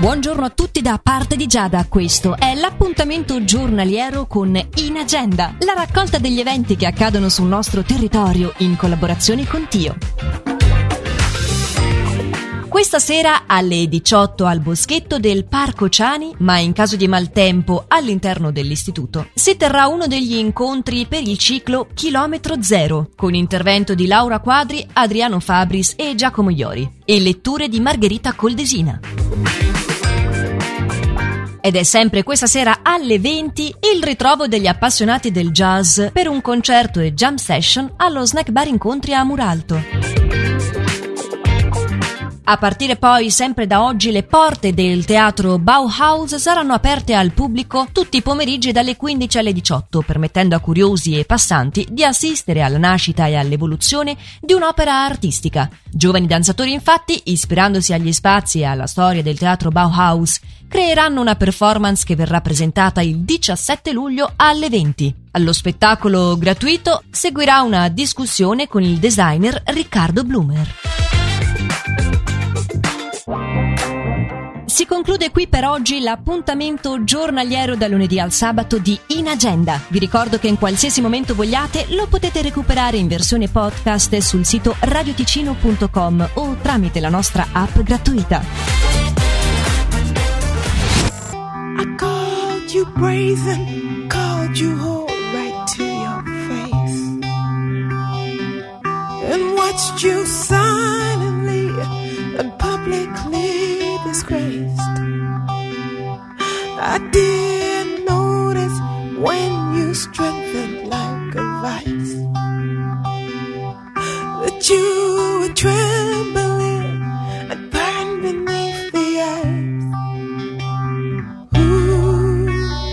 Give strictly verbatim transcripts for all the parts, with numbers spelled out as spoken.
Buongiorno a tutti da parte di Giada, questo è l'appuntamento giornaliero con In Agenda, la raccolta degli eventi che accadono sul nostro territorio in collaborazione con Tio. Questa sera alle diciotto al boschetto del Parco Ciani, ma in caso di maltempo all'interno dell'istituto, si terrà uno degli incontri per il ciclo Chilometro Zero, con intervento di Laura Quadri, Adriano Fabris e Giacomo Iori, e letture di Margherita Coldesina. Ed è sempre questa sera alle venti il ritrovo degli appassionati del jazz per un concerto e jam session allo Snack Bar Incontri a Muralto. A partire poi, sempre da oggi, le porte del teatro Bauhaus saranno aperte al pubblico tutti i pomeriggi dalle quindici alle diciotto, permettendo a curiosi e passanti di assistere alla nascita e all'evoluzione di un'opera artistica. Giovani danzatori, infatti, ispirandosi agli spazi e alla storia del teatro Bauhaus, creeranno una performance che verrà presentata il diciassette luglio alle venti. Allo spettacolo gratuito seguirà una discussione con il designer Riccardo Blumer. Si conclude qui per oggi l'appuntamento giornaliero da lunedì al sabato di In Agenda. Vi ricordo che in qualsiasi momento vogliate lo potete recuperare in versione podcast sul sito radio ticino punto com o tramite la nostra app gratuita. I called you brazen, called you whole right to your face, and watched you silently and publicly disgraced. I didn't notice when you strengthened like a vice, that you were trembling and burned beneath the ice. Ooh,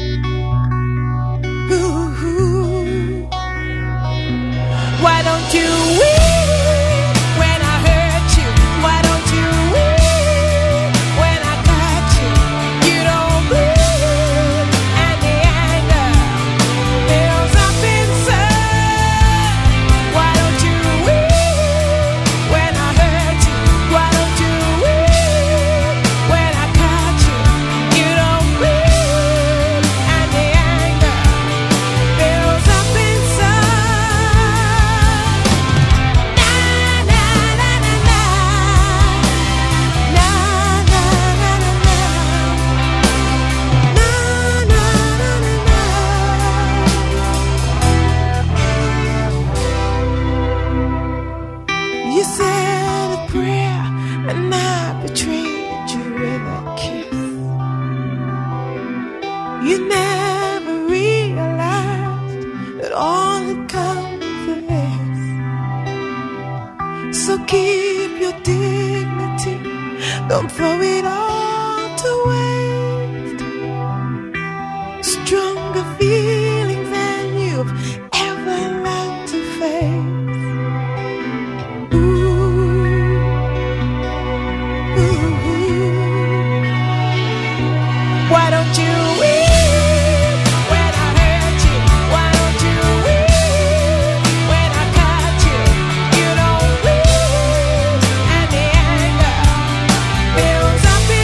ooh, ooh. Why don't you weep when I hurt you? Why don't you weep when I cut you? You don't bleed, and the anger builds up inside. Why don't you weep when I hurt you? Why don't you weep when I cut you? You don't bleed, and the anger builds up inside. Na na na na na, na na na na na, na na na na na. You said a prayer and I betrayed you with a kiss. You never realized that all had come to this. So keep your dignity, don't throw it all to waste. Stronger feelings than you've ever learned to face. Ooh, ooh, ooh. Why don't you weep when I hurt you? Why don't you weep when I cut you? You don't weep, and the anger builds up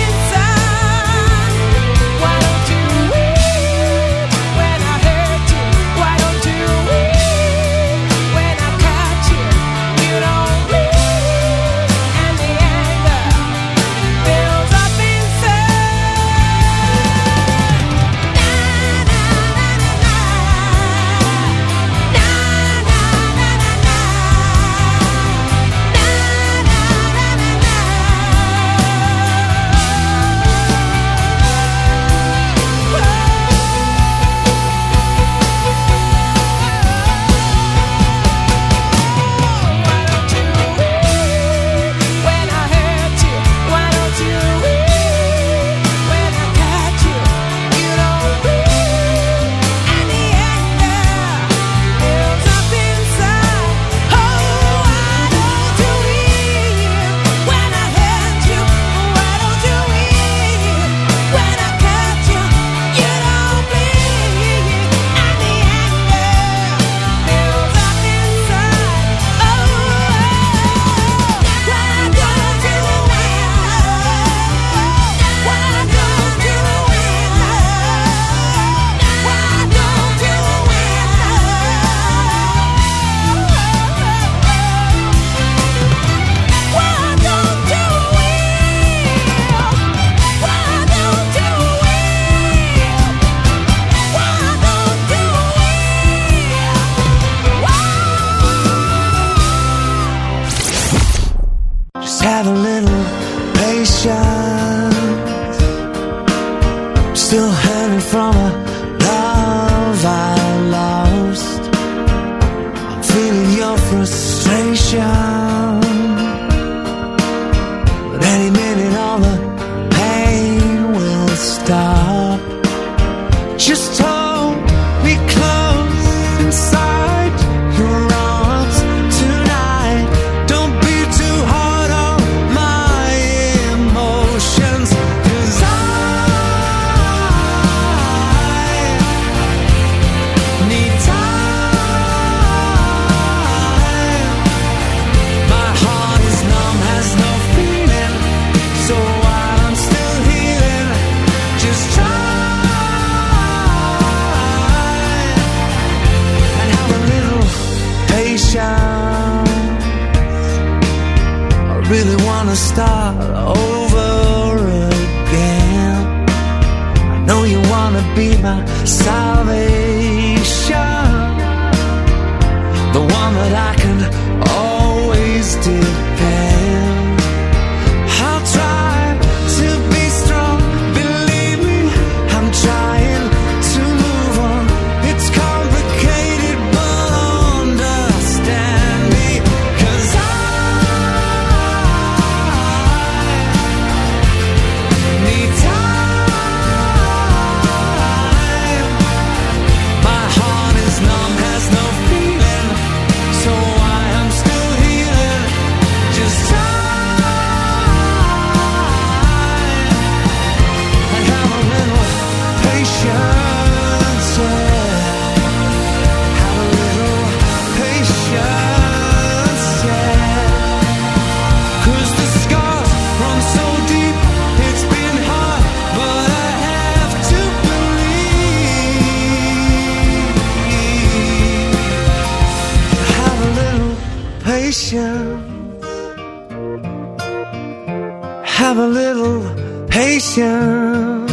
little patience. Still hanging from a love I lost. I'm feeling your frustration, but any minute all the pain will stop. Just hold me close inside your arms tonight. Don't be too hard on my emotions, 'cause I need time. My heart is numb, has no feeling, so while I'm still healing, just try and have a little patience. I really wanna start over again. I know you wanna be my salvation, the one that I can always depend. I'll try to be strong, believe me, I'm trying to move on. It's complicated, but understand me, 'cause I need time. My heart is numb, has no feeling, so why I'm still healing. Just time and have a little patience, yeah. Have a little patience, yeah. 'Cause the scars run so deep, it's been hard, but I have to believe. Have a little patience. Have a little patience.